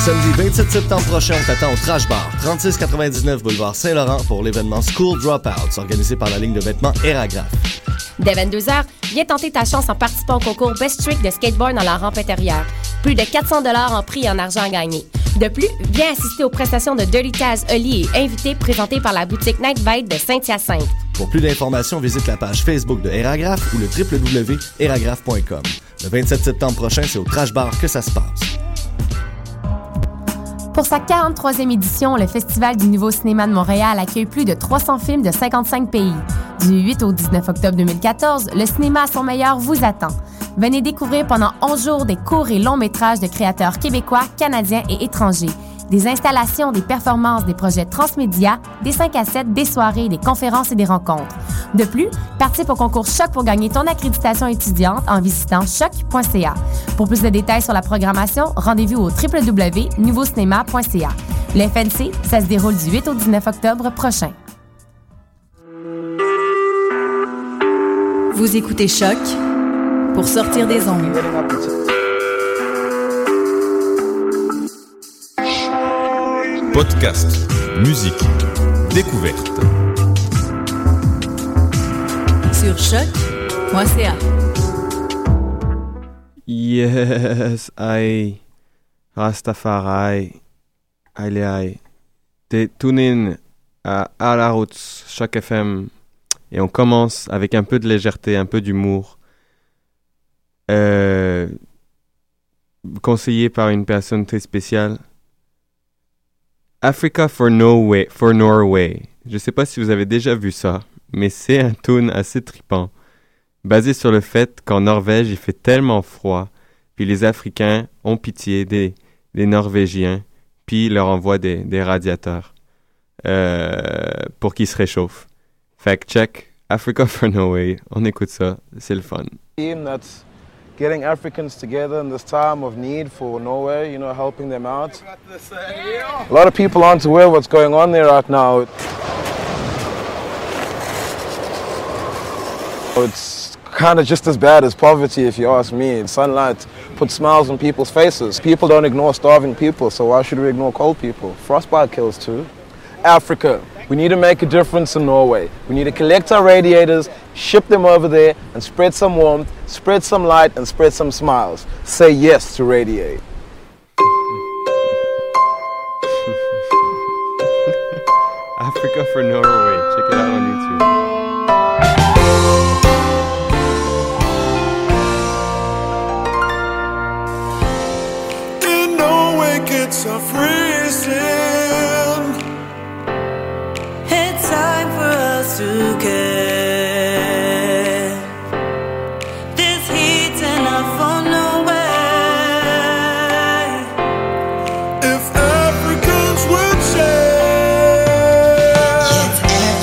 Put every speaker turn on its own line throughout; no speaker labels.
Samedi 27 septembre prochain, on t'attend au Trash Bar, 3699 boulevard Saint-Laurent pour l'événement School Dropouts, organisé par la ligne de vêtements Aéragraphe.
Dès 22h, viens tenter ta chance en participant au concours Best Trick de skateboard dans la rampe intérieure. Plus de 400 $ en prix et en argent à gagner. De plus, viens assister aux prestations de Dirty Taz, Oli et invités présentées par la boutique Night Bite de Saint-Hyacinthe.
Pour plus d'informations, visite la page Facebook de Aéragraphe ou le www.aéragraphe.com. Le 27 septembre prochain, c'est au Trash Bar que ça se passe.
Pour sa 43e édition, le Festival du Nouveau Cinéma de Montréal accueille plus de 300 films de 55 pays. Du 8 au 19 octobre 2014, le cinéma à son meilleur vous attend. Venez découvrir pendant 11 jours des courts et longs métrages de créateurs québécois, canadiens et étrangers. Des installations, des performances, des projets transmédia, des 5 à 7, des soirées, des conférences et des rencontres. De plus, participe au concours Choc pour gagner ton accréditation étudiante en visitant choc.ca. Pour plus de détails sur la programmation, rendez-vous au www.nouveaucinéma.ca. Le FNC, ça se déroule du 8 au 19 octobre prochain.
Vous écoutez Choc pour sortir des ondes.
Podcast, musique, découverte.
Sur choc.ca.
Yes, I Rastafari, Aïe. T'es tune in à la route, Choc FM. Et on commence avec un peu de légèreté, un peu d'humour. Conseillé par une personne très spéciale. Africa for Norway. Je sais pas si vous avez déjà vu ça, mais c'est un tune assez trippant, basé sur le fait qu'en Norvège, il fait tellement froid, puis les Africains ont pitié des Norvégiens, puis leur envoient des radiateurs pour qu'ils se réchauffent. Fact check, Africa for Norway, on écoute ça, c'est le fun.
That's getting Africans together in this time of need for Norway, you know, helping them out. A lot of people aren't aware what's going on there right now. It's kind of just as bad as poverty, if you ask me. Sunlight puts smiles on people's faces. People don't ignore starving people, so why should we ignore cold people? Frostbite kills too. Africa. We need to make a difference in Norway. We need to collect our radiators, ship them over there, and spread some warmth, spread some light, and spread some smiles. Say yes to Radiate.
Africa for Norway, check it out on YouTube.
In Norway gets a freezing.
Time for us to care. This heat's enough for no way.
If Africans would share.
Yes,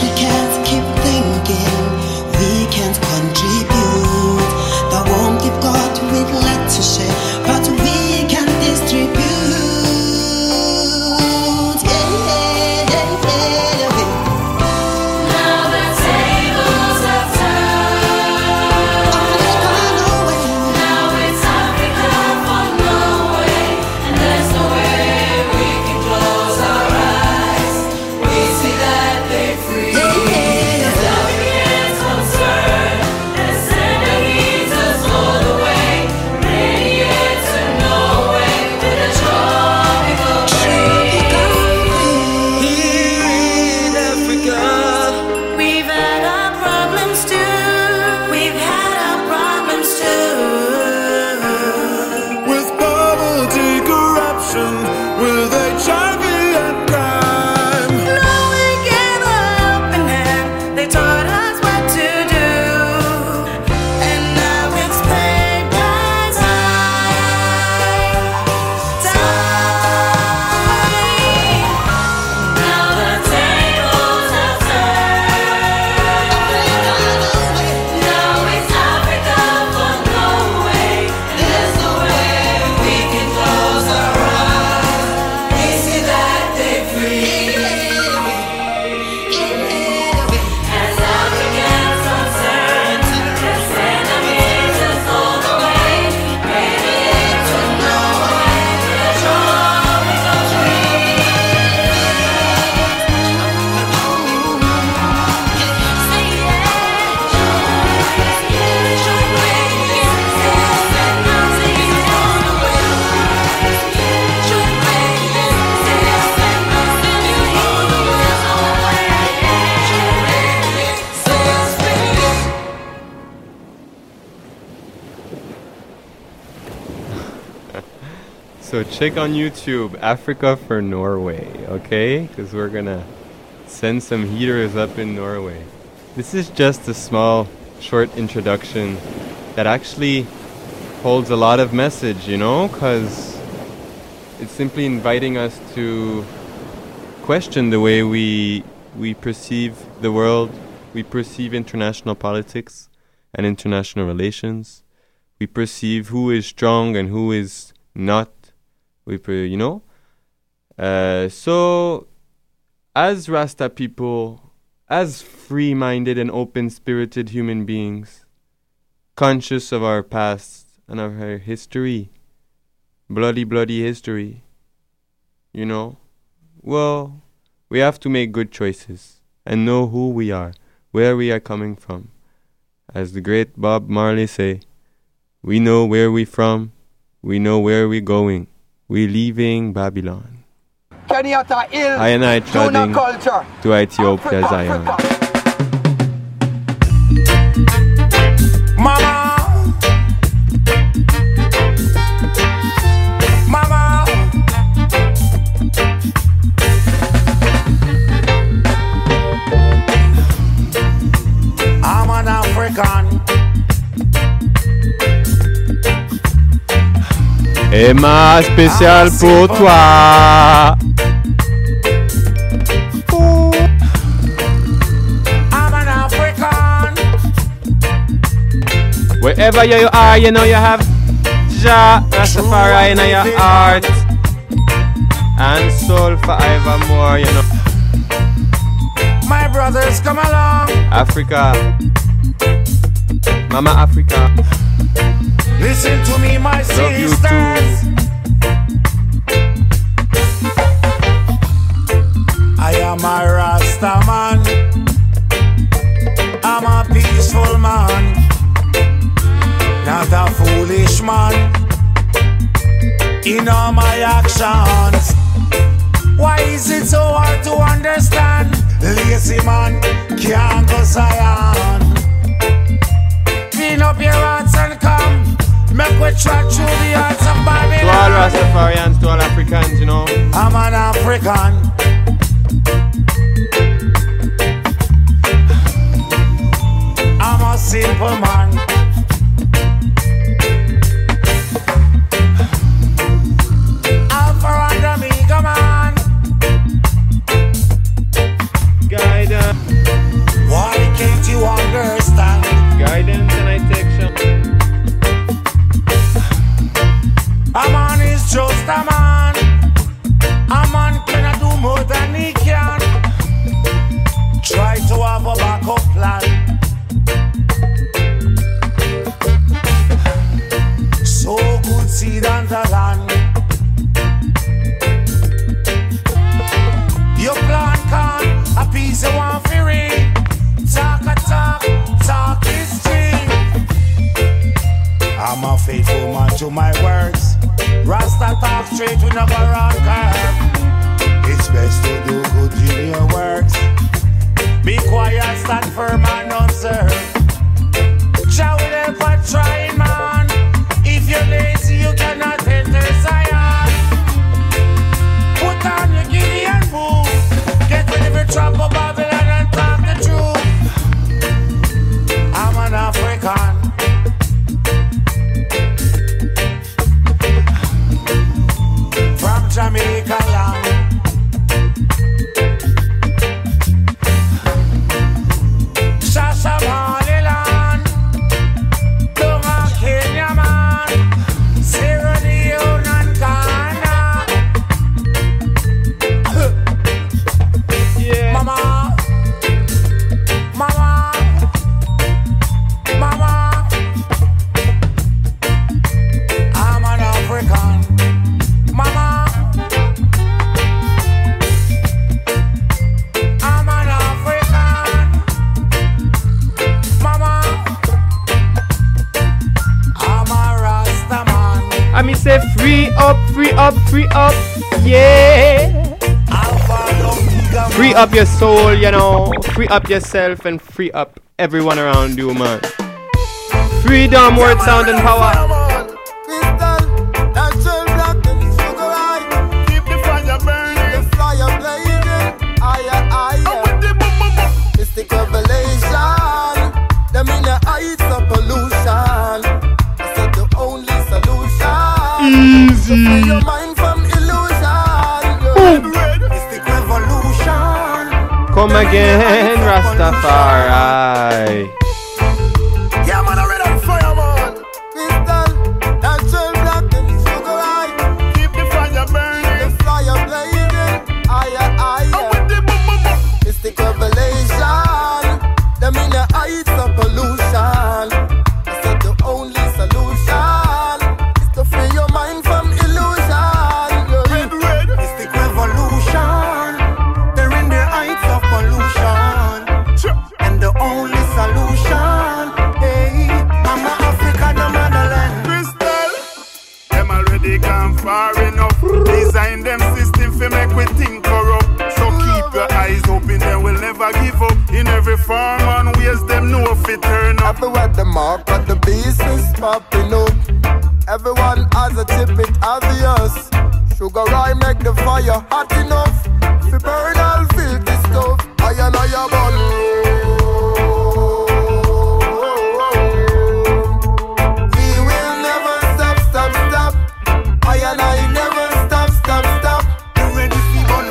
So check on YouTube, Africa for Norway, okay? Because we're gonna send some heaters up in Norway. This is just a small, short introduction that actually holds a lot of message, you know? Because it's simply inviting us to question the way we perceive the world, we perceive international politics and international relations. We perceive who is strong and who is not. So, as Rasta people, as free-minded and open-spirited human beings, conscious of our past and of our history, bloody history, well, we have to make good choices and know who we are, where we are coming from. As the great Bob Marley say, we know where we from, we know where we going. We leaving Babylon. I and I treading to Ethiopia, Zion.
Mama, I'm an African.
Emma spécial pour toi.
I'm an African.
Wherever you are, you know you have Jah Rastafari in your heart and soul forevermore, you know.
My brothers, come along.
Africa, Mama Africa.
Listen to me, my sisters. I am a Rasta man. I'm a peaceful man, not a foolish man. In all my actions, why is it so hard to understand? Lazy man can't go Zion. Clean up your hearts and come. Make we trot through the hearts of Babylon.
To all Rastafarians, to all Africans, you know.
I'm an African. I'm a simple man. Alpha and Omega man.
Guidance.
Why can't you understand?
Guidance and I take some.
A man is just a man. A man cannot do more than he can. Try to have a backup plan. So good seed on the land. Your plan can't appease the one fury. Talk a talk is cheap. I'm a faithful man to my words. Rasta talk straight, we never run curve. It's best to do good in your works. Be quiet, stand firm and observe. Jah will help a trying man. If you're lazy, you cannot enter Zion. Put on your Gideon boots. Get rid of your trap of Babylon and talk the truth. I'm an African. From Jamaica land. Shashamaliland. Dunga Kenya man. Sierra Leone and Ghana.
Yeah.
Mama. I'm an African. Mama. I'm an African. Mama. I'm a Rasta man.
I mean say free up, yeah. Free up your soul, you know. Free up yourself and free up everyone around you, man. Freedom, word, sound and power.
easy. Free your mind from illusion. Mystic revolution.
Come again, Rastafari.
Yeah, man, I'm ready on fire, man. Crystal, natural black and sugar high. Keep the fire burning, the fire blazing. Higher, higher. Mystic revelation. Them in the heights of pollution. I said the only solution is to free your mind from illusion. Red, mystic revolution. They're in the heights of pollution, and the only solution, hey, Mama Africa, the motherland.
Crystal, them already gone far enough. Design them system for make we think corrupt. So keep your eyes open, they will never give up. In every form and ways, them know if it turn up.
Everywhere the mark of the beast is popping up. Everyone has a tip, it obvious. Sugar I make the fire hot enough. Fi burn all filthy stuff. I and I a bun. We will never stop, stop, stop. I and I never stop, stop, stop. You ready fi bun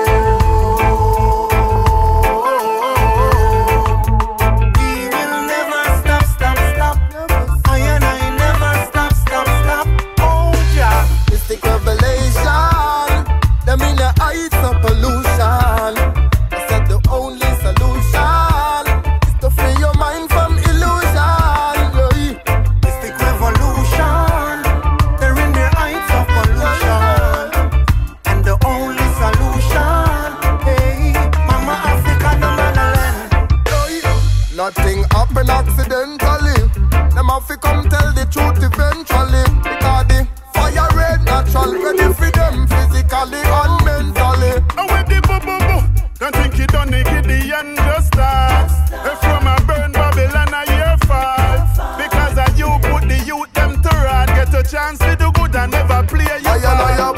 We will never stop, stop, stop. I and I never stop, stop, stop. Oh yeah, mystic revelation. Them in the heights of pollution. I said the only solution is to free your mind from illusion. Mystic revolution. They're in the heights of pollution, and the only solution, hey, Mama Africa, the motherland. Nothing happen accidentally. Them have to come tell the truth eventually. Because the fire red natural, ready for them physically and mentally.
And with the boo-boo-boo, don't think you done it, get the end just start. From a burn Babylon a year fall. Because of you put the youth them to rot. Get a chance to do good and never play your
I
part.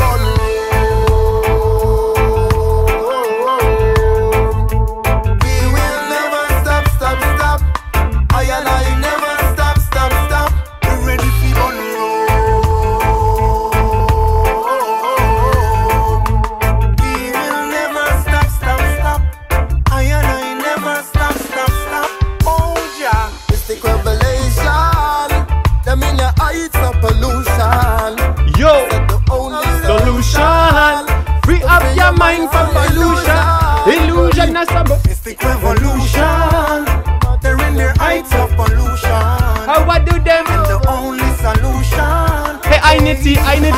We will never stop, stop, stop. I and I never stop, stop, stop. You ready for bun We will never stop, stop, stop. I and I never stop, stop, stop. Oh yeah, mystic revelation. Them in the heights of pollution.
Yo,
Said the only
solution. Free up your mind from illusion. Illusion is trouble.
Mystic revolution. They're in the heights of pollution.
How I do them?
And the only solution.
Hey, Ainity.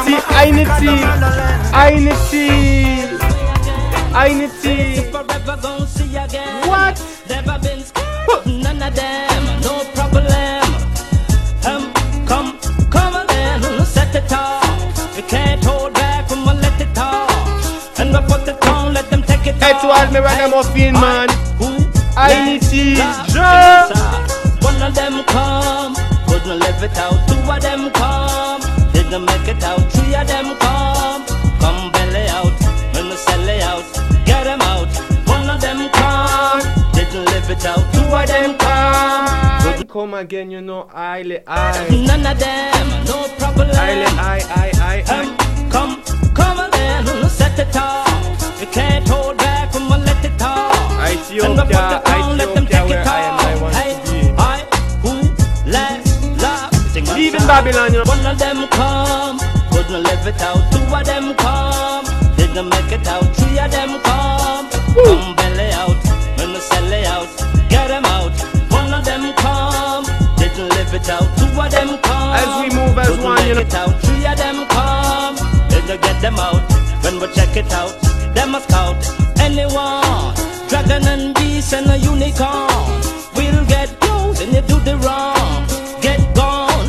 Forever gon' see again.
What?
Never been scared. None of them, no problem. Come again, set it off. We can't hold back, we won't let it off. And we put it on, let them take it off.
Hey, to all me ragamuffin man. Ainity.
One of them come, couldn't live it out. Two of them come, didn't make it out. Three of them come belly out. When we sell it out, get them out. One of them come, didn't live it out. Two of them come.
Come again, you know, I.
None of them, no problem.
I.
Come again, set it off. You can't hold back, we won't let it off.
Ethiopia, where I want to be. Leaving Babylon, you know.
One of them come, couldn't live it out. Two of them come, didn't make it out. Three of them come belly out. When we sell it out, get them out. One of them come, didn't live it out. Two of them come,
As we move as one, you know.
it out. Three of them come, didn't get them out. When we check it out, them must count anyone. Dragon and beast and a unicorn. We'll get close and you do the wrong. Get gone,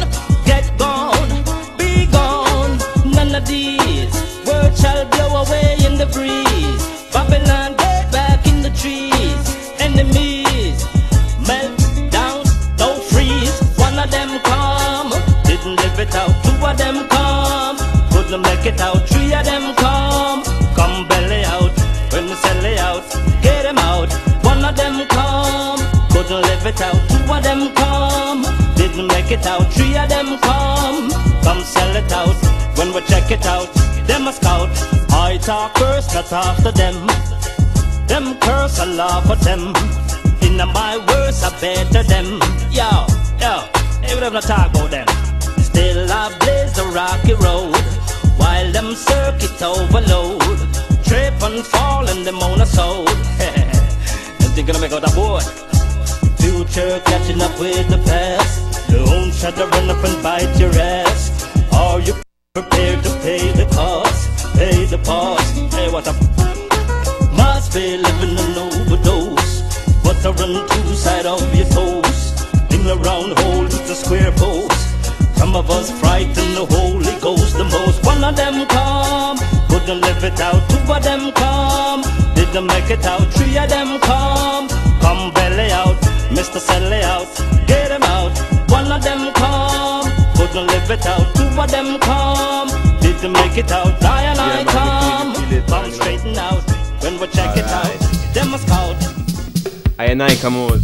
be gone. None of these words shall blow away in the breeze. Babylon, get back in the trees. Enemies, melt down, don't freeze. One of them come, didn't live it out. Two of them come, couldn't make it out. Three of them come belly out. When we sell it out, get them out. One of them come, couldn't live it out. Two of them come, didn't didn't make it out. 3 of them come sell it out. When we check it out, them a scout. I talk first, not after them. Them curse, I laugh at them. In my words, I better them. Yo, hey, we don't talk about them. Still I blaze the rocky road, while them circuit overload. Trip and fall and them on a soul. Them think gonna make out a board. Future catching up with the past. The own shut to run up and bite your ass. Are you prepared to pay the cost? Pay the cost. Hey, what up? Must be living an overdose. But I run two side of your toes. In the round hole with the square post. Some of us frighten the Holy Ghost the most. One of them come, couldn't live it out. 2 of them come, didn't make it out. 3 of them come belly out. Mr. Sally out, get him out. 1 of them come, couldn't live it out. 2 of them come, didn't make it out. I come straighten out. When we check it out, them a scout.
I come on.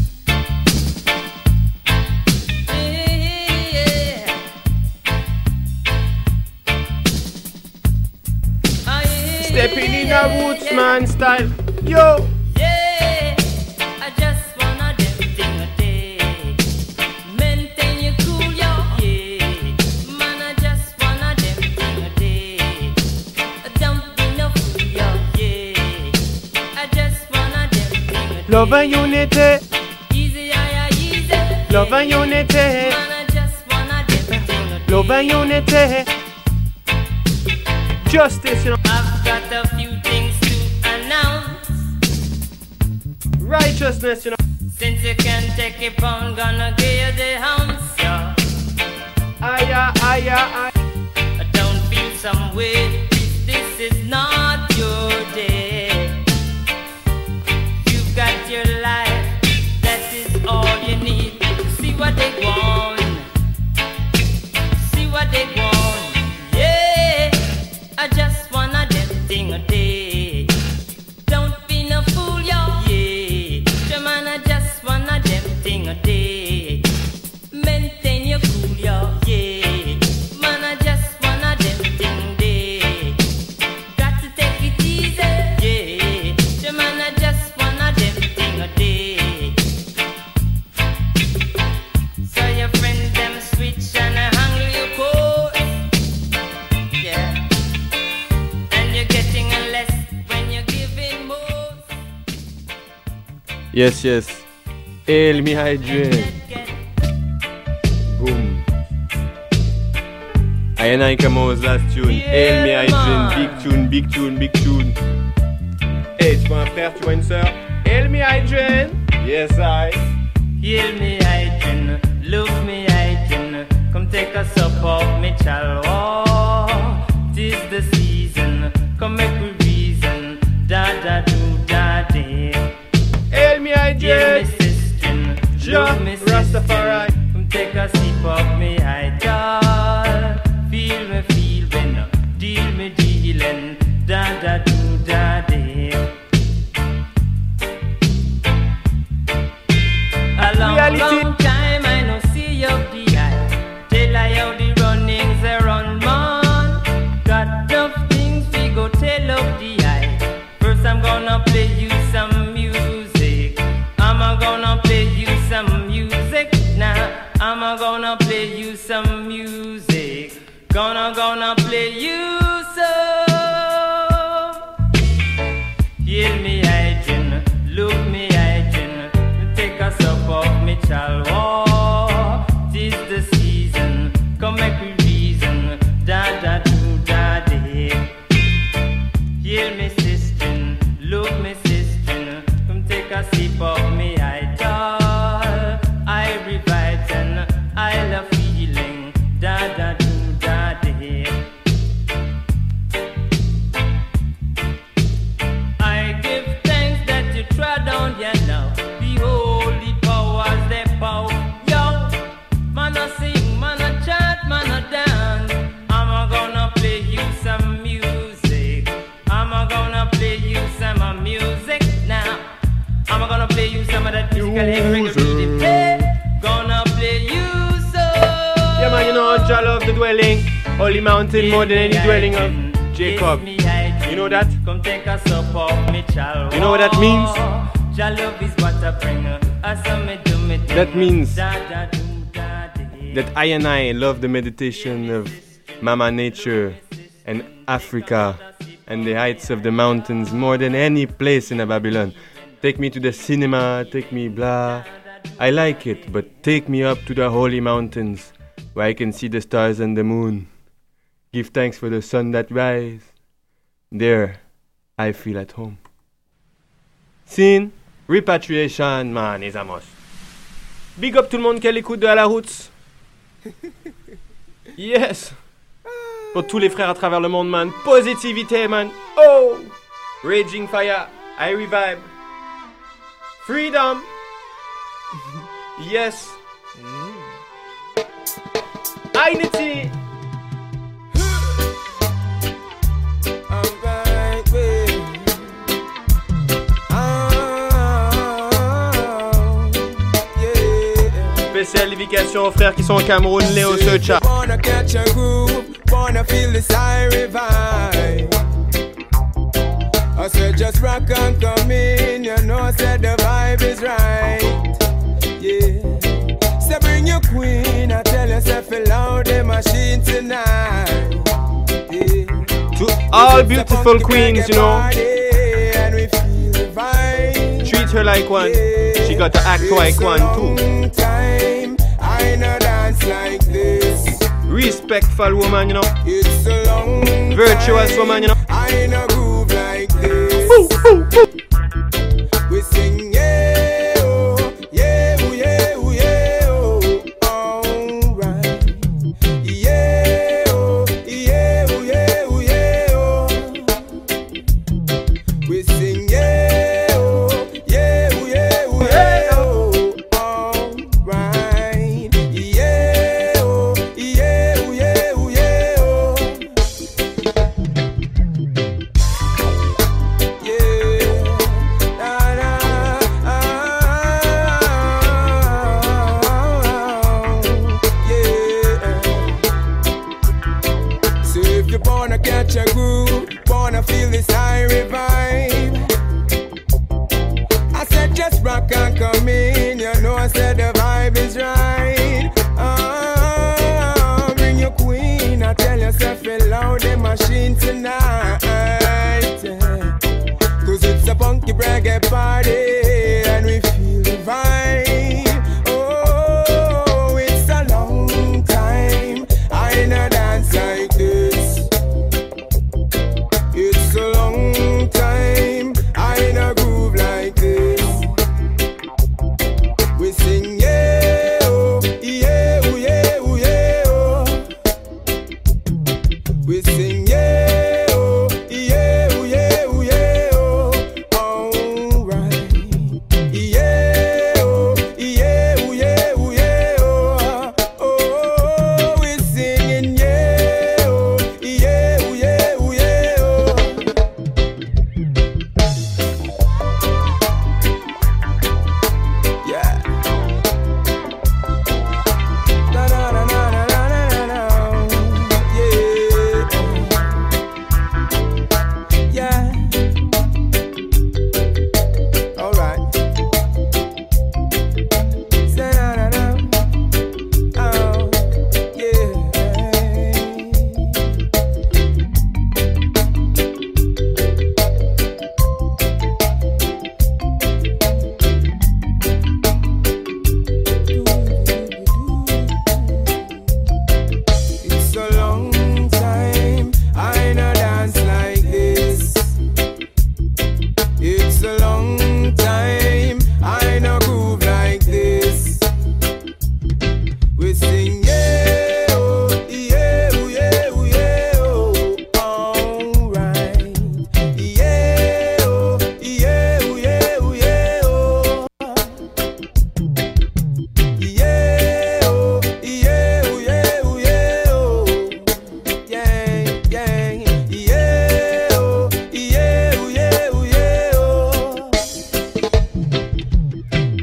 Stepping in a roots man style, yo.
Yeah, I just wanna them thing a day. Maintain your cool, yo. Yeah, man, I just wanna them thing a day. Don't be no fool, yo. Yeah, I just wanna them thing a day.
Love and unity,
Easy, easy.
love and unity,
Man, I just wanna them thing a day.
love and unity. Justice, you know.
I've got a few things to announce.
Righteousness, you know.
Since you can take it on, gonna give you the ounce, yo.
I
Don't feel some way if this is not your day. You've got your life, that is all you need. See what they want, see what they want. Yeah, I just wanna them thing a day. Don't be no fool, yo. Yeah, man, I just wanna them thing a day. Maintain your cool, yo. Yeah, man, I just wanna them thing day. Got to take it easy. Yeah, man, I just wanna them thing a day. So your friends them switch and handle your course. Yeah. And you're getting less when you're giving more.
Yes. El mi hydrate. Boom. I come on last tune. El mi hydrate. Big tune.
Hey, tu vois un frère, tu vois une sœur. Hail me hydrate.
Yes, I.
Heal me, hygiene. Look me, hygiene. Come take a sup of me chalwa. 'Tis the season. Come make we reason. Da da do da day.
Hail me
Heal me,
hydrate.
sister. Look me, sister.
Rastafari.
Come take a sip of me hydrate. Feel when dealing. Da da do da day. A long time I no see you the eye. Tell I how the runnings they run, man. Got enough things we go tell of the eye. First I'm gonna play you some music. I'm gonna play you some music now. I'm gonna play you some music. Gonna play you some. Hear me hygiene, look me hygiene. Take a sup of me chalwa. 'Tis the season, come make we reason. Da da do da day. Hear me sister, look me sister. Come take a sip of me idol. I revive and I love feeling. Da da do da day. I give thanks that you trod on ya now. The holy powers they power. Yo, man a sing, man a chant, man a dance. I'm gonna play you some music. I'm gonna play you some music now. I'm gonna play you some of that musical reggae. Hey, gonna play you so.
the dwelling, holy mountain more than any dwelling of Jacob. You know that?
Come take a sup of me child.
You know what that means?
Jah love is what I bring.
That means that I and I love the meditation of Mama Nature and Africa and the heights of the mountains more than any place in Babylon. Take me to the cinema, take me blah. I like it, but take me up to the holy mountains where I can see the stars and the moon. Give thanks for the sun that rise. There, I feel at home. Scene, repatriation, man, les amos. Big up tout le monde qui l'écoute de À la Roots. Yes. Pour tous les frères à travers le monde, man. Positivité, man. Oh. Raging fire. I revive. Freedom. Yes. Unity. Spéciale dédication aux frères qui sont au Cameroun, Léo Secha.
Wanna catch a groove, wanna feel the siren vibe. I said just rock and come in, you know I said the vibe is right. Yeah. So bring your queen, I tell yourself allow the machine tonight. Yeah.
To all beautiful queens, you know.
And we feel the vibe.
Treat her like one. Yeah. She got to act like one too.
I know dance like this.
Respectful woman, you know.
It's a long
virtuous
time.
Woman, you know.
I know groove like this.
Ooh, ooh, ooh.
We sing yeah, oh, yeah, oh, yeah, oh, yeah, oh, alright. Yeah, oh, yeah, oh, yeah, oh, yeah, oh. We sing yeah, oh, yeah, oh, yeah, oh, yeah, oh, alright. Yeah, oh, yeah, oh, yeah, oh, yeah, oh. Catch a groove, wanna feel this high revive. I said just rock and come in, you know I said the vibe is right. Bring your queen, I tell yourself allow the machine tonight. Cause it's a funky reggae party and we feel the vibe. Oh, it's a long time I know dance like this. It's a long time I know groove like this. We sing yeah, oh, yeah, oh, yeah, oh, yeah, oh. We sing yeah, oh, yeah, oh, yeah, oh, yeah, oh. Alright. Yeah, oh, yeah, oh, yeah, oh, yeah, oh. Oh, we singing yeah, oh, yeah, oh, yeah, oh, yeah, oh. Yeah. Na na na na na na na na. Yeah. Yeah. All right. Say na na na. Oh. Yeah. It's a long time I know dance like this. It's a long time I know groove like this. We sing yeah, oh, yeah, oh, yeah, oh, yeah, oh. Alright. Yeah, oh, yeah, oh, yeah, oh, yeah, oh. Yeah, oh, yeah, oh, yeah, oh, yeah, oh. Yeah, yeah. Yeah, oh, yeah, oh, yeah, oh, yeah,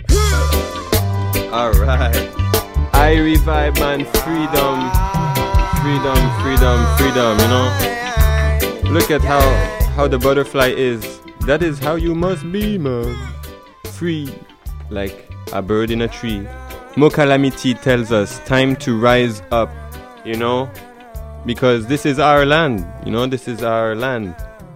oh.
Alright. I revive, man. Freedom.
freedom, freedom, freedom, you know? Look at how the butterfly is. That is how you must be, man. Free, like a bird in a tree. Mo Calamity tells us time to rise up, you know? Because this is our land, you know? This is our land.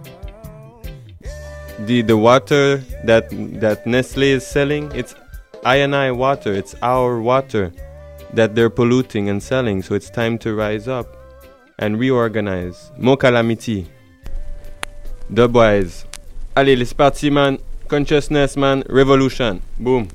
The water that Nestle is selling, it's I&I water, it's our water that they're polluting and selling, so it's time to rise up and reorganize. Mo Calamity. Dubwise. Allez, c'est parti, man. Consciousness, man. Revolution. Boom.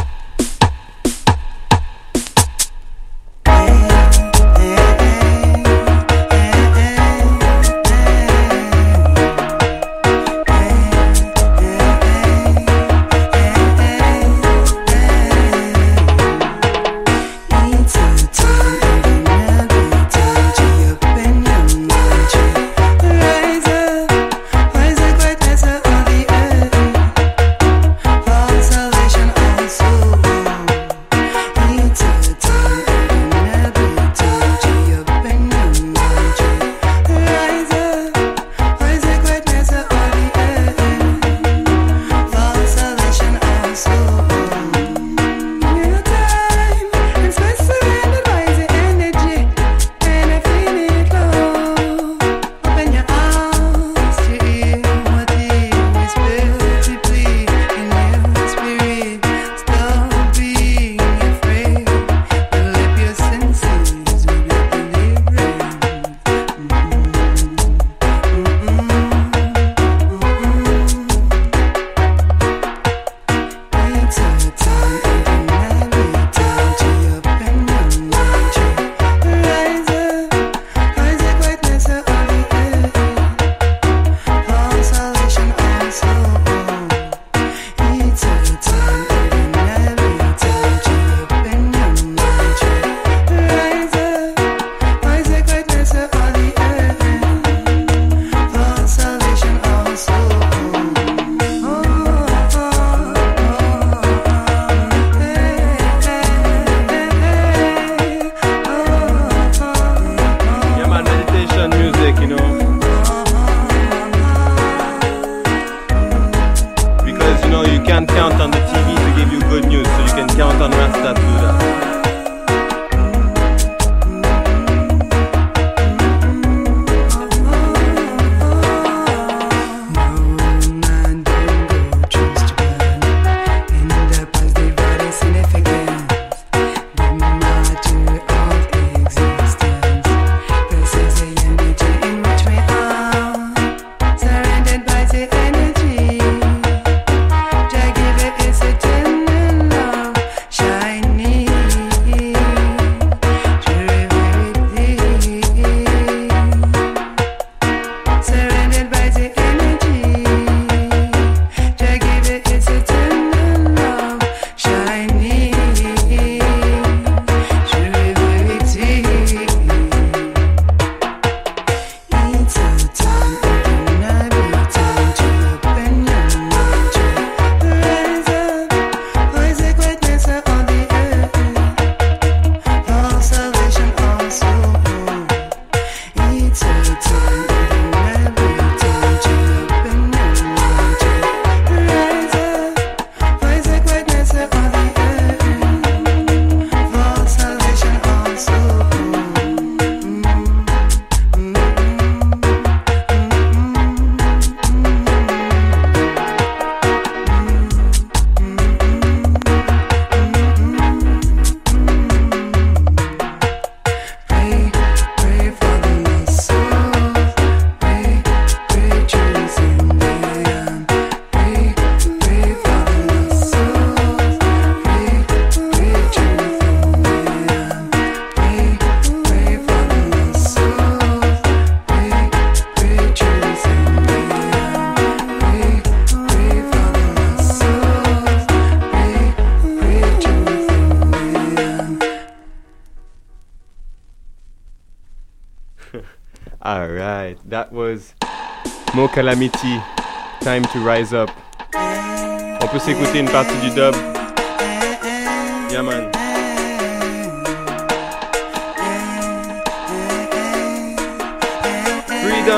Alright, that was Mo Calamity, Time to Rise Up. On peut s'écouter une partie du dub. Yeah man.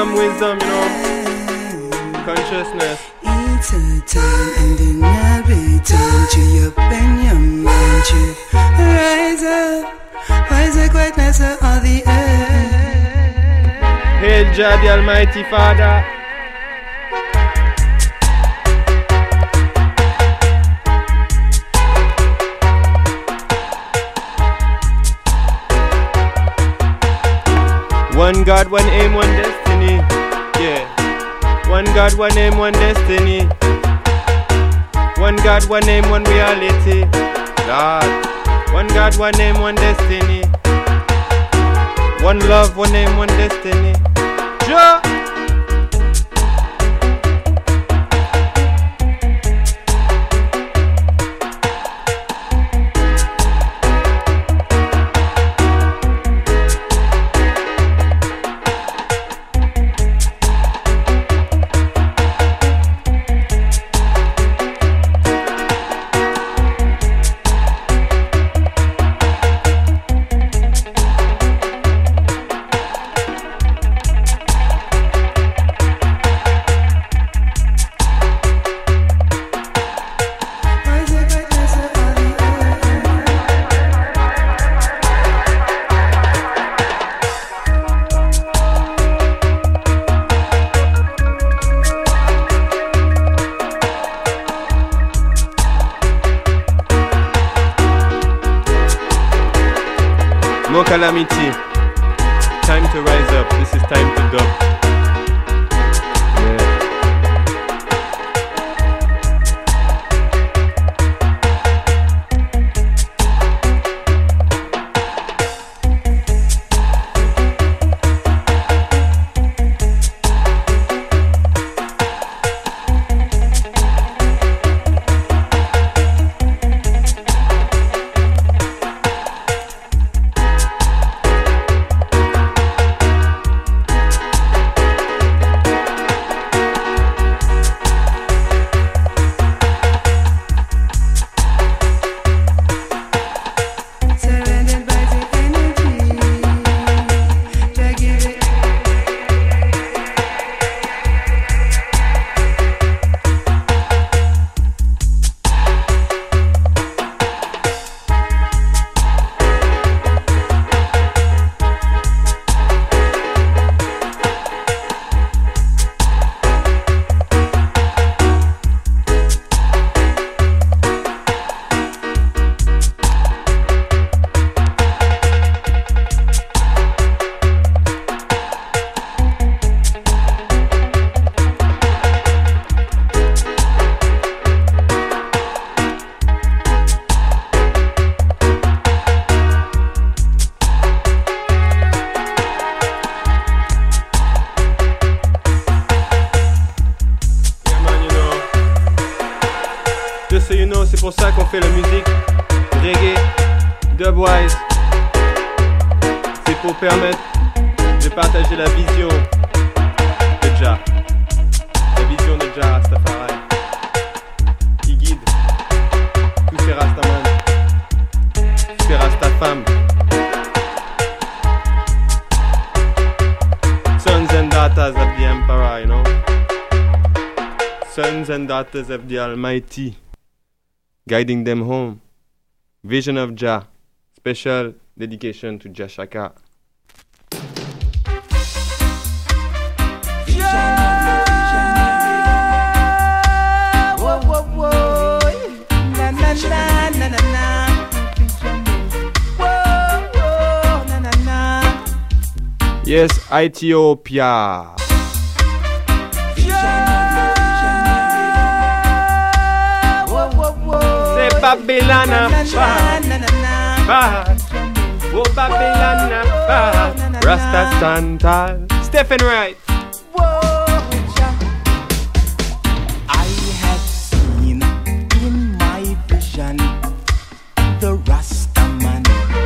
wisdom, you know. Consciousness.
It's a time and then I'll be time to your pen, your mind to rise up, greatness of the earth.
Hail Jah, the Almighty Father. One God, one aim, one destiny. Yeah. One God, one aim, one destiny. One God, one aim, one reality. God. One God, one aim, one destiny. One love, one aim, one destiny. Jah. No calamity. Time to rise up. This is time to dub. Yeah. C'est pour ça qu'on fait la musique reggae, dubwise. C'est pour permettre de partager la vision de Jah. La vision de Jah Rastafari qui guide tous ces Rastaman, ces Rastafam. Sons and daughters of the Emperor, you know. Sons and daughters of the Almighty. Guiding them home. Vision of Jah. Special dedication to Jah Shaka. Yes, Ethiopia. Babylon, oh Babylon, Rasta Santal, Stephen Wright.
I have seen in my vision the Rasta man.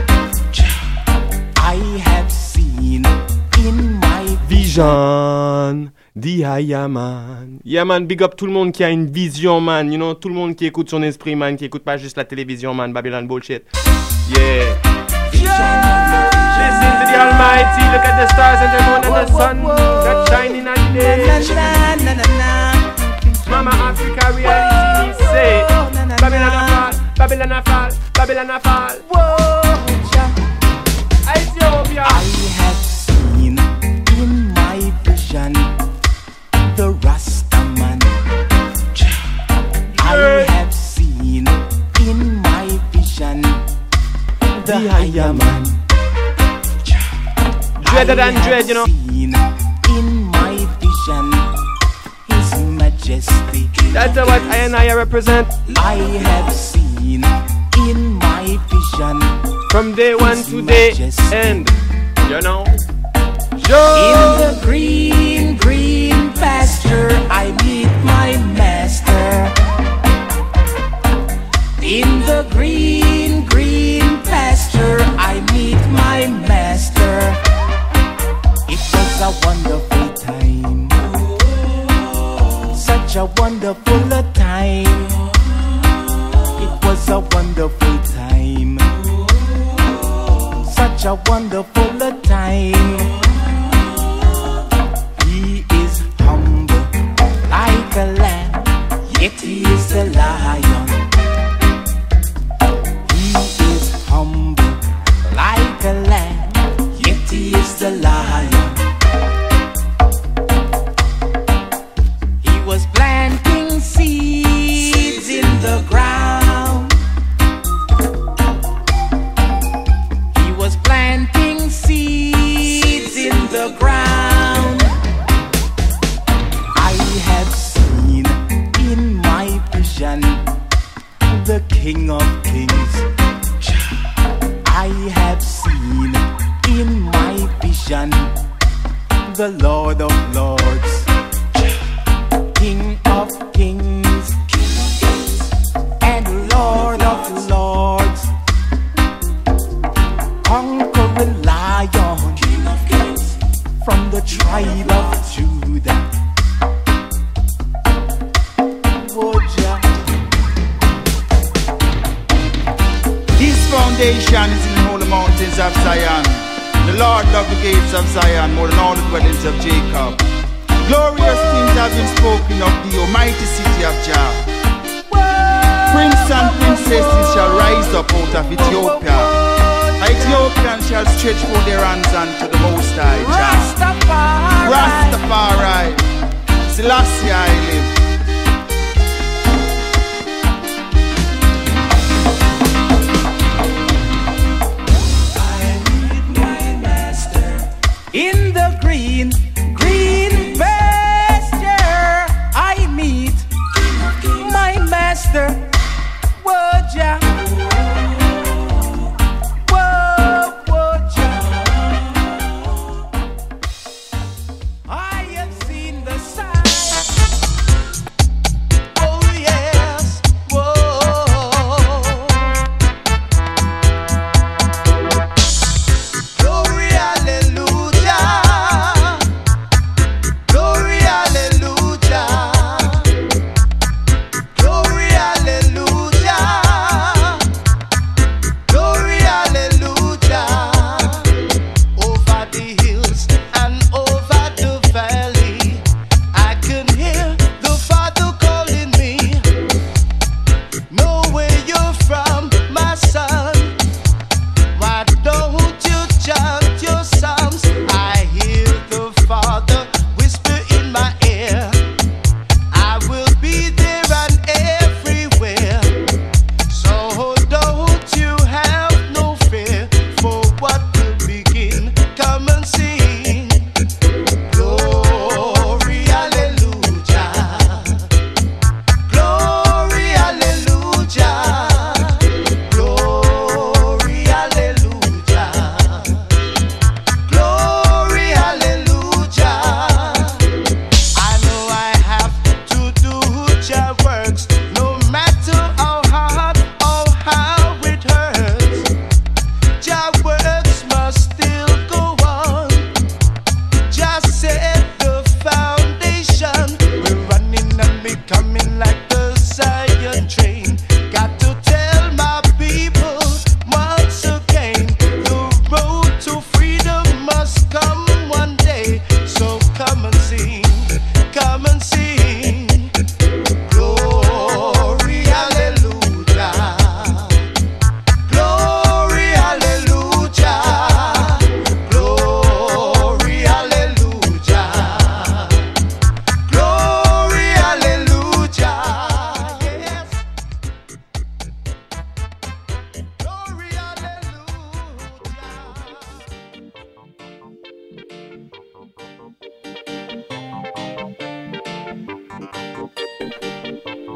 I have seen in my
vision. Yaman. Yeah man, big up tout le monde qui a une vision man, you know, tout le monde qui écoute son esprit man, qui écoute pas juste la télévision man, Babylon bullshit. Yeah. Listen to the Almighty, look at the stars and the moon and the sun that shine
La na na na.
Mama Africa reality say Babylon a fall, Babylon a fall, Babylon a fall.
Whoa,
Ethiopia.
I have seen in my vision the Rastaman. I have seen in my vision the higher man.
Dreader than dread, you know.
In my vision His Majesty.
That's what I and I represent.
I have seen in my vision
from day one to day end. You know.
In the green, green pasture I meet my master. In the green, green pasture I meet my master. It was a wonderful time, such a wonderful time. It was a wonderful time, such a wonderful time. He is humble like a lamb, yet he is a lion. He is humble like a lamb, yet he is the lion. He was planting seeds in the ground. He was planting seeds in the ground. I have seen in my vision the King of Kings. I have seen in my vision the Lord of Lords, King of Kings and Lord of Lords, conquering lion, King of Kings from the tribe of Judah.
His foundation is in the holy mountains of Zion. The Lord loved the gates of Zion more than all the dwellings of Jacob. Glorious things have been spoken of the almighty city of Jah. Prince and princesses shall rise up out of Ethiopia. Ethiopians shall stretch forth their hands unto the Most High Jah. Rastafari, Selassie I live.
In the green, green pasture I meet my master. Whoa, Jah. Whoa, whoa, Jah. I have seen the sun.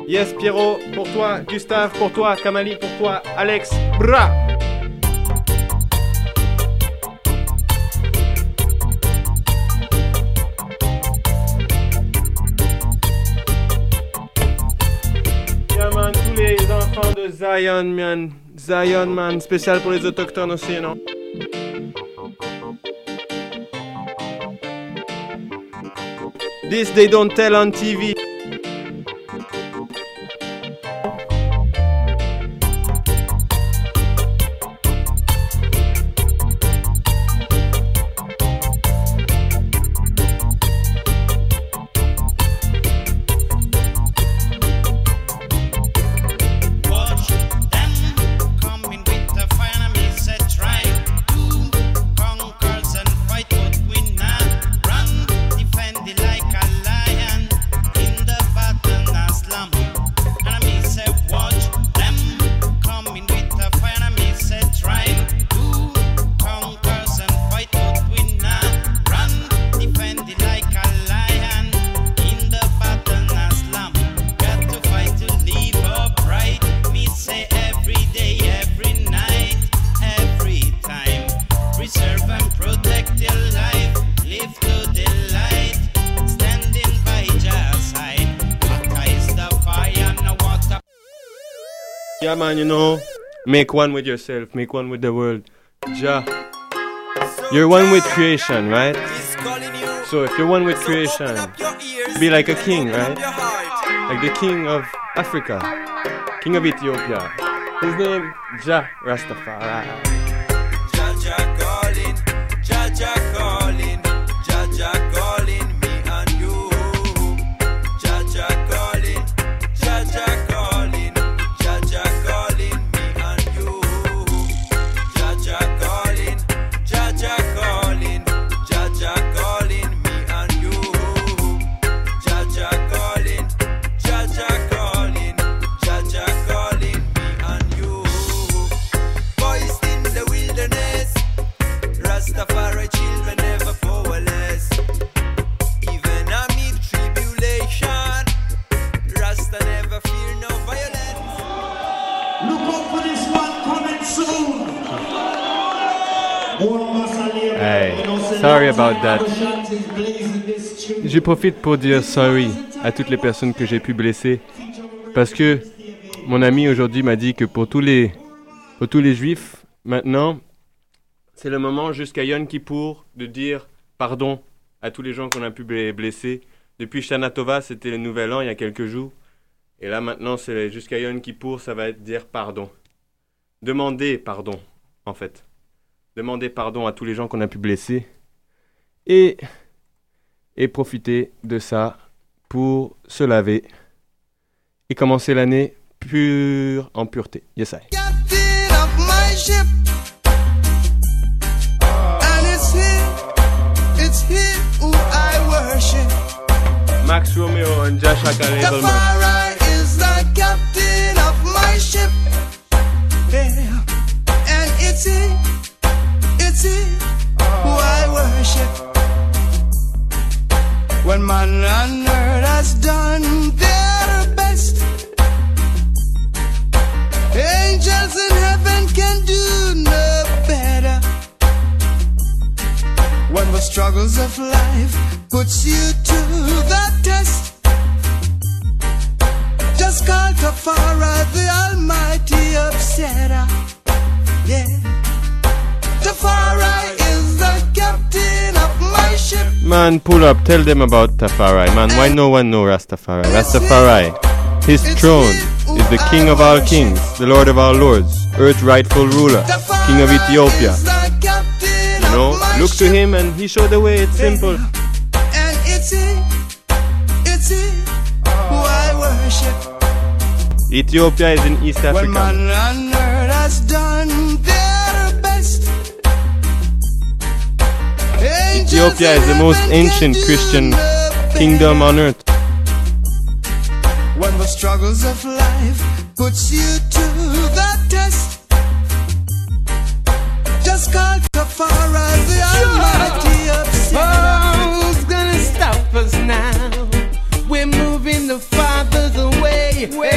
Yes, Pierrot, pour toi. Gustave, pour toi. Kamali, pour toi. Alex, bra. Yeah, man, tous les enfants de Zion, man. Zion, man, spécial pour les autochtones aussi, non? This they don't tell on TV. Yeah, man, you know, make one with yourself, make one with the world. Jah, you're one with creation, right? So if you're one with creation, be like a king, right? Like the king of Africa, king of Ethiopia. His name, Jah Rastafari.
Jah Jah calling, Jah Jah calling, Jah Jah calling me and you. Jah Jah calling, Jah Jah calling, Jah Jah calling me and you. Jah Jah calling, Jah Jah calling, Jah Jah calling me and you. Jah Jah calling, Jah Jah calling, Jah Jah calling me and you. Boys in the wilderness, Rastafari children never powerless. Even amid tribulation, Rasta never fear no violence.
Look out for this one coming soon.
Hey, sorry about that. Je profite pour dire sorry à toutes les personnes que j'ai pu blesser. Parce que mon ami aujourd'hui m'a dit que pour tous les juifs, maintenant, c'est le moment jusqu'à Yom Kippour de dire pardon à tous les gens qu'on a pu blesser. Depuis Shana Tova, c'était le nouvel an il y a quelques jours. Et là maintenant, c'est jusqu'à Yom Kippour, ça va être dire pardon. Demander pardon, en fait. Demander pardon à tous les gens qu'on a pu blesser. Et profiter de ça pour se laver et commencer l'année pure en pureté. Yes, I.
Captain of my ship, and it's here who I worship.
Max Romeo and Josh Akale.
Tafari is the captain of my ship, yeah. And it's he who I worship. When man on earth has done their best, angels in heaven can do no better. When the struggles of life puts you to the test, just call Tafari, the almighty upsetter. Yeah, Tafari is the captain of my ship.
Man, pull up, tell them about Tafari. Man, why no one know Rastafari? Rastafari, his throne is the king of all kings, the lord of all lords, earth's rightful ruler, king of Ethiopia. You know, look to him and he showed the way, it's simple.
And it's he who I worship.
Ethiopia is in East
When
Africa.
man on earth has done their best,
Ethiopia is the most ancient Christian kingdom on earth.
when the struggles of life puts you to the test, just call Tafari, the almighty upsetter.
Who's gonna stop us now? We're moving the fathers away.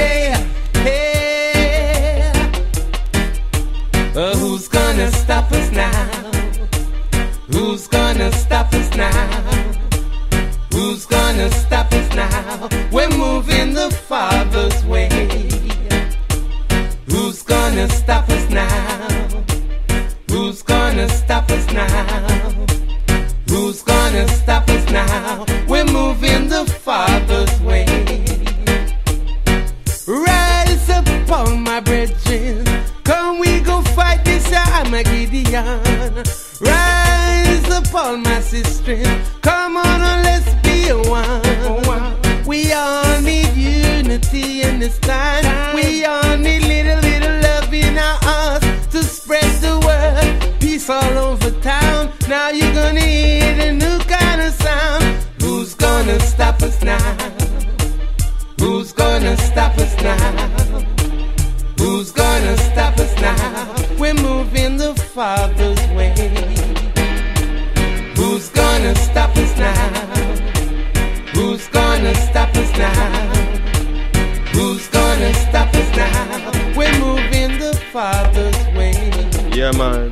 Who's gonna stop us now? Who's gonna stop us now? We're moving the Father's way. Who's gonna stop us now? Who's gonna stop us now? Who's gonna stop us now? We're moving the Father's way. Rise up, all my brethren. Come, we go fight this Armageddon. Rise up, all my sisters. Come on, let's be one. We all need unity in this time. We all need little love in our hearts to spread the word. Peace all over town. Now you're gonna hear a new kind of sound. Who's gonna stop us now? Who's gonna stop us now? Who's gonna stop us now? We're moving the Father's way. Who's gonna stop us now? Who's gonna stop us now? Who's gonna stop us now? We're moving the Father's way.
Yeah, man.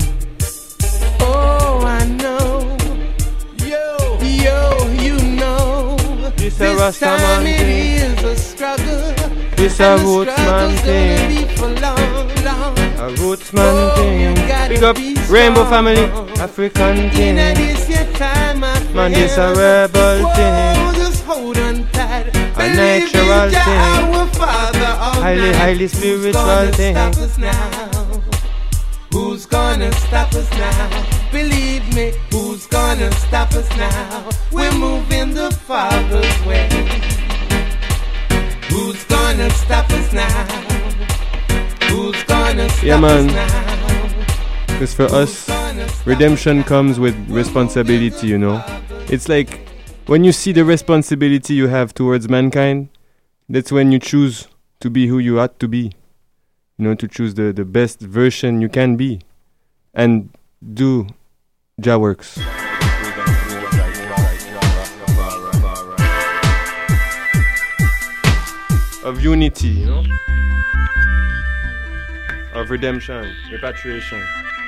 Oh, I know. Yo, you know.
This
This time it is a struggle.
This a roots man thing. A roots man thing. Big up Rainbow Family, African thing. Man, this a rebel thing. A natural thing. Highly spiritual thing.
Who's gonna stop us now? Believe me, who's gonna stop us now? We're moving the Father's way. Who's gonna stop us now? Who's gonna stop us now?
Because for us, redemption comes with responsibility, you know. It's like when you see the responsibility you have towards mankind, that's when you choose to be who you ought to be. You know, to choose the best version you can be and do Jah works. Of unity, you know? Of redemption, repatriation.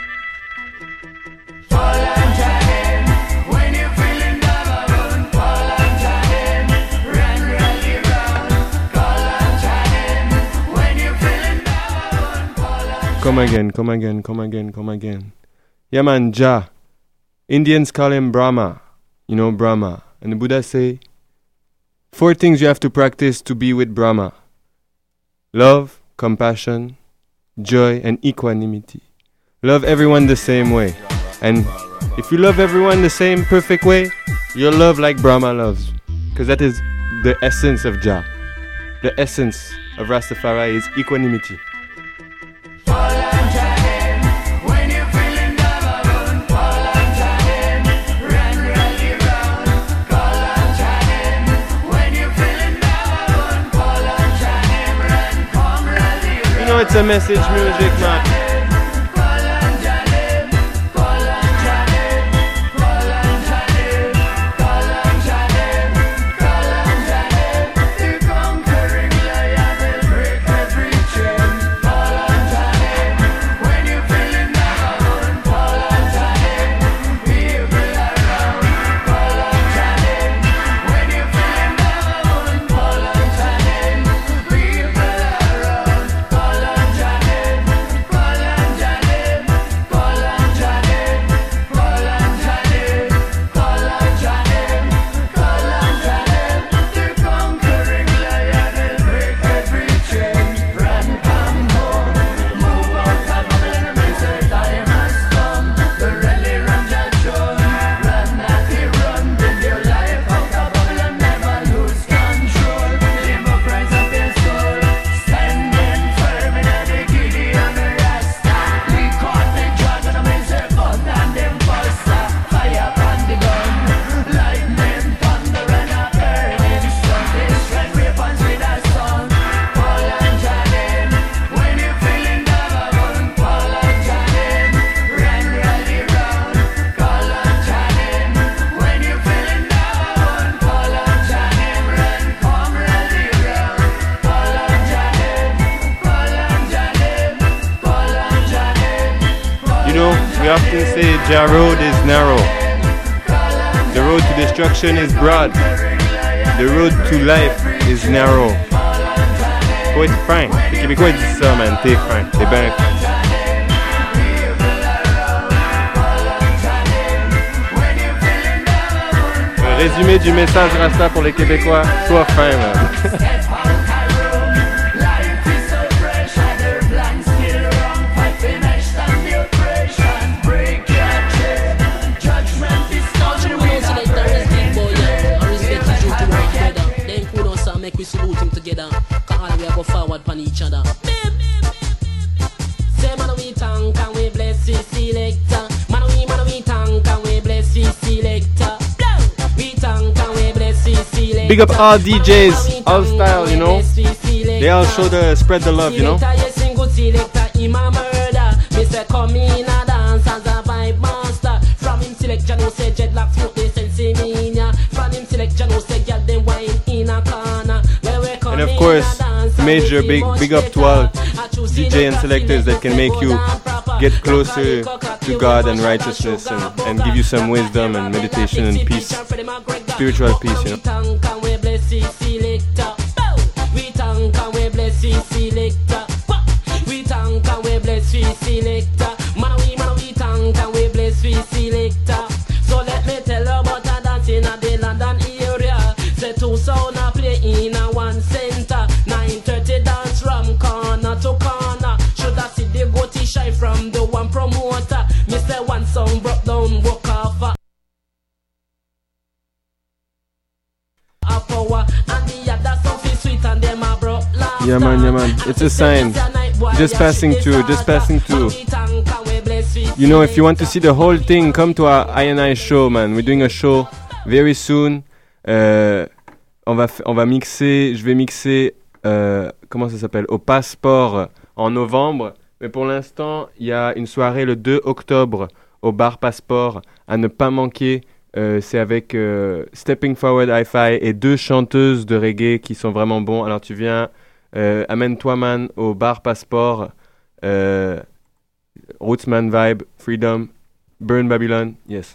Come again. Yeah, man, Jah. Indians call him Brahma. You know, Brahma. And the Buddha say, 4 things you have to practice to be with Brahma. Love, compassion, joy, and equanimity. Love everyone the same way. And if you love everyone the same perfect way, you'll love like Brahma loves. Because that is the essence of Jah. The essence of Rastafari is equanimity. It's a message music, man. Jah road is narrow. The road to destruction is broad. The road to life is narrow. Faut être fin. Les Québécois ils disent ça, man. T'es fin. T'es bien fin. Résumé du message Rasta pour les Québécois, sois fin, man.
Make we salute him together, cause all we go forward pan each other. Say man we thank and we bless the selector. Man we thank and we bless the selector. We thank and we bless the selector.
Big up all DJs, all style, you know. They all spread the love, you know.
Selector, him a murder. Me say come in a dance as a vibe master. From him selection, no say dreadlocks smoke they sense me ya. From him selection, no say girl them wine in a corner.
And of course, major big up to all DJ and selectors that can make you get closer to God and righteousness and give you some wisdom and meditation and peace, spiritual peace, you know.
So let me tell you about a dance in the London area. Say two sound a play in a one center. 9:30 dance from corner to corner. Should I see the goatee shy from the one promoter? Me say one song broke down, walk off a power, and the other song feel sweet and them a broke laughter.
Yeah man, it's a sign. Just passing through. You know, if you want to see the whole thing, come to our I&I show, man. We're doing a show very soon. On va mixer, je vais mixer, comment ça s'appelle, au Passeport en novembre. Mais pour l'instant, il y a une soirée le 2 octobre au bar Passeport à ne pas manquer. C'est avec Stepping Forward Hi-Fi et 2 chanteuses de reggae qui sont vraiment bons. Alors tu viens, amène-toi man au bar Passeport, Rootsman Vibe, Freedom, Burn Babylon, yes.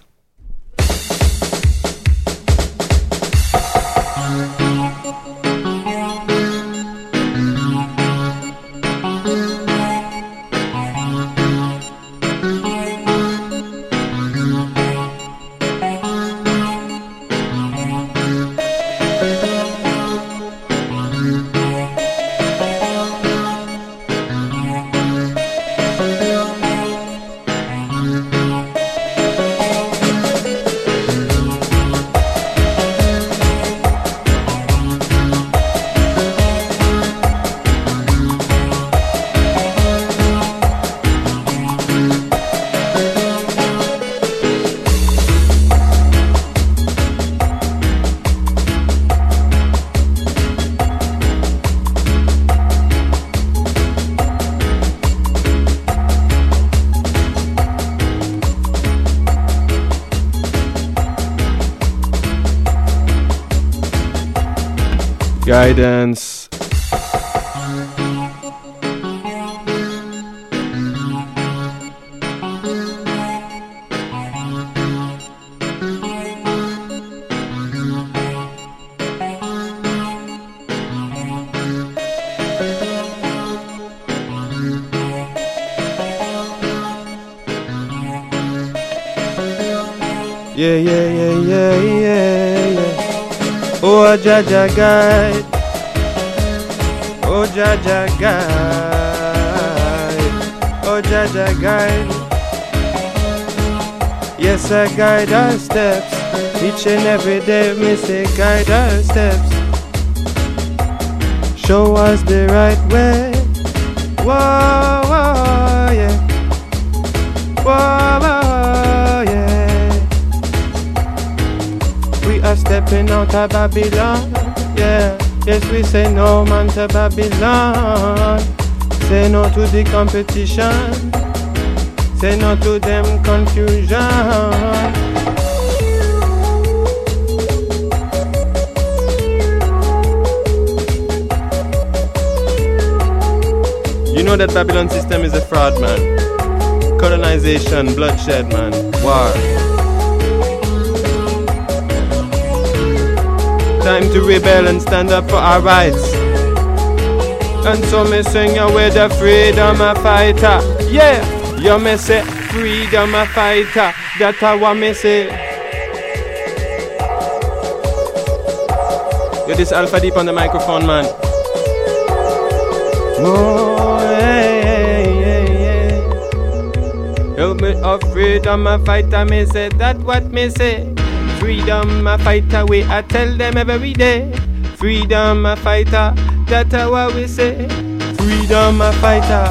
Guidance. Yeah. Oh, Jaja guide. Oh, Jaja guide. Oh, Jaja guide. Yes, I guide our steps. Each and every day, me say guide our steps. Show us the right way. Whoa, whoa, yeah. Whoa, whoa, yeah. We are stepping out of Babylon, yeah. Yes, we say no man to Babylon. Say no to the competition. Say no to them confusion. You know that Babylon system is a fraud, man. Colonization, bloodshed, man.
War. Time to rebel and stand up for our rights. And so me sing you with the freedom a fighter. Yeah, you me say freedom a fighter. That's what me say. Yo, this Alpha Deep on the microphone, man. Oh, yeah. Yo, me a freedom a fighter, me say that what me say. Freedom a fighter, we I tell them every day. Freedom a fighter, that's what we say. Freedom a fighter.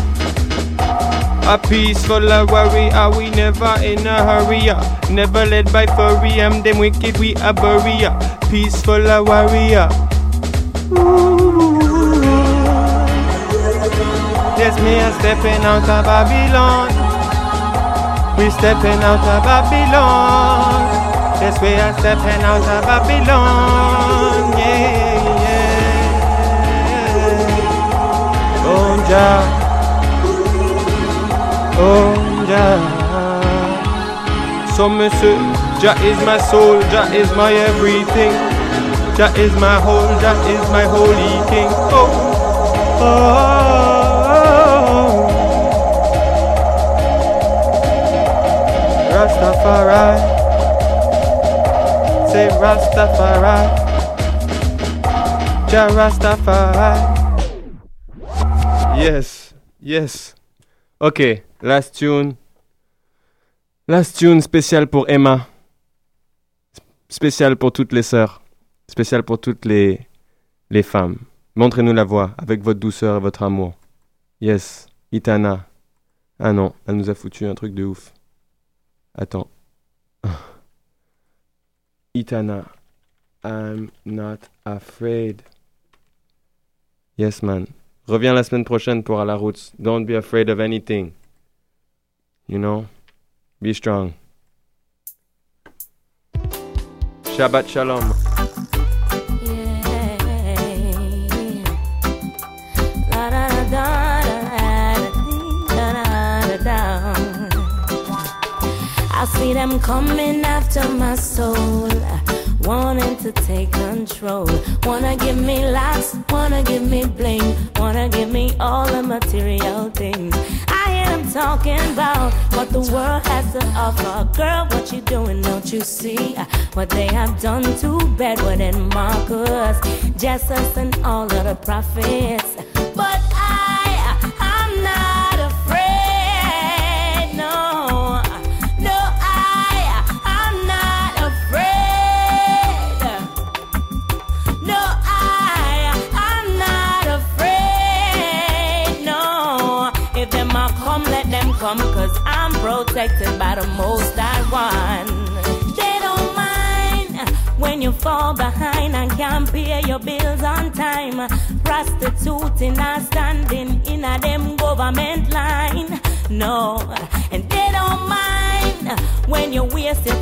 A peaceful warrior, we never in a hurry. Never led by fury, them wicked we a bury. Peaceful warrior. Yes, me a stepping out of Babylon. We stepping out of Babylon. Yes, we are stepping out of Babylon. Yeah. Oh, Jah. Oh, Jah. So me say, Jah is my soul, Jah is my everything. Jah is my whole, Jah is my holy king. Oh. Rastafari. Say Rastafari. Jah Rastafari. Yes. Ok, last tune spécial pour Emma. Spécial pour toutes les sœurs. Spécial pour toutes les femmes. Montrez-nous la voie avec votre douceur et votre amour. Yes, Itana. Ah non, elle nous a foutu un truc de ouf. Attends. Itana. I'm not afraid. Yes, man. Reviens la semaine prochaine pour À la Roots. Don't be afraid of anything. You know? Be strong. Shabbat Shalom.
I see them coming after my soul, wanting to take control. Wanna give me locks, wanna give me bling, wanna give me all the material things. I hear them talking about what the world has to offer. Girl, what you doing, don't you see what they have done to Bedouin and Marcus, Jesus and all of the prophets? But I'm not afraid, no. Cause I'm protected by the Most High One. They don't mind when you fall behind and can't pay your bills on time. Prostituting and standing in a them government line. No, and they don't mind when you waste your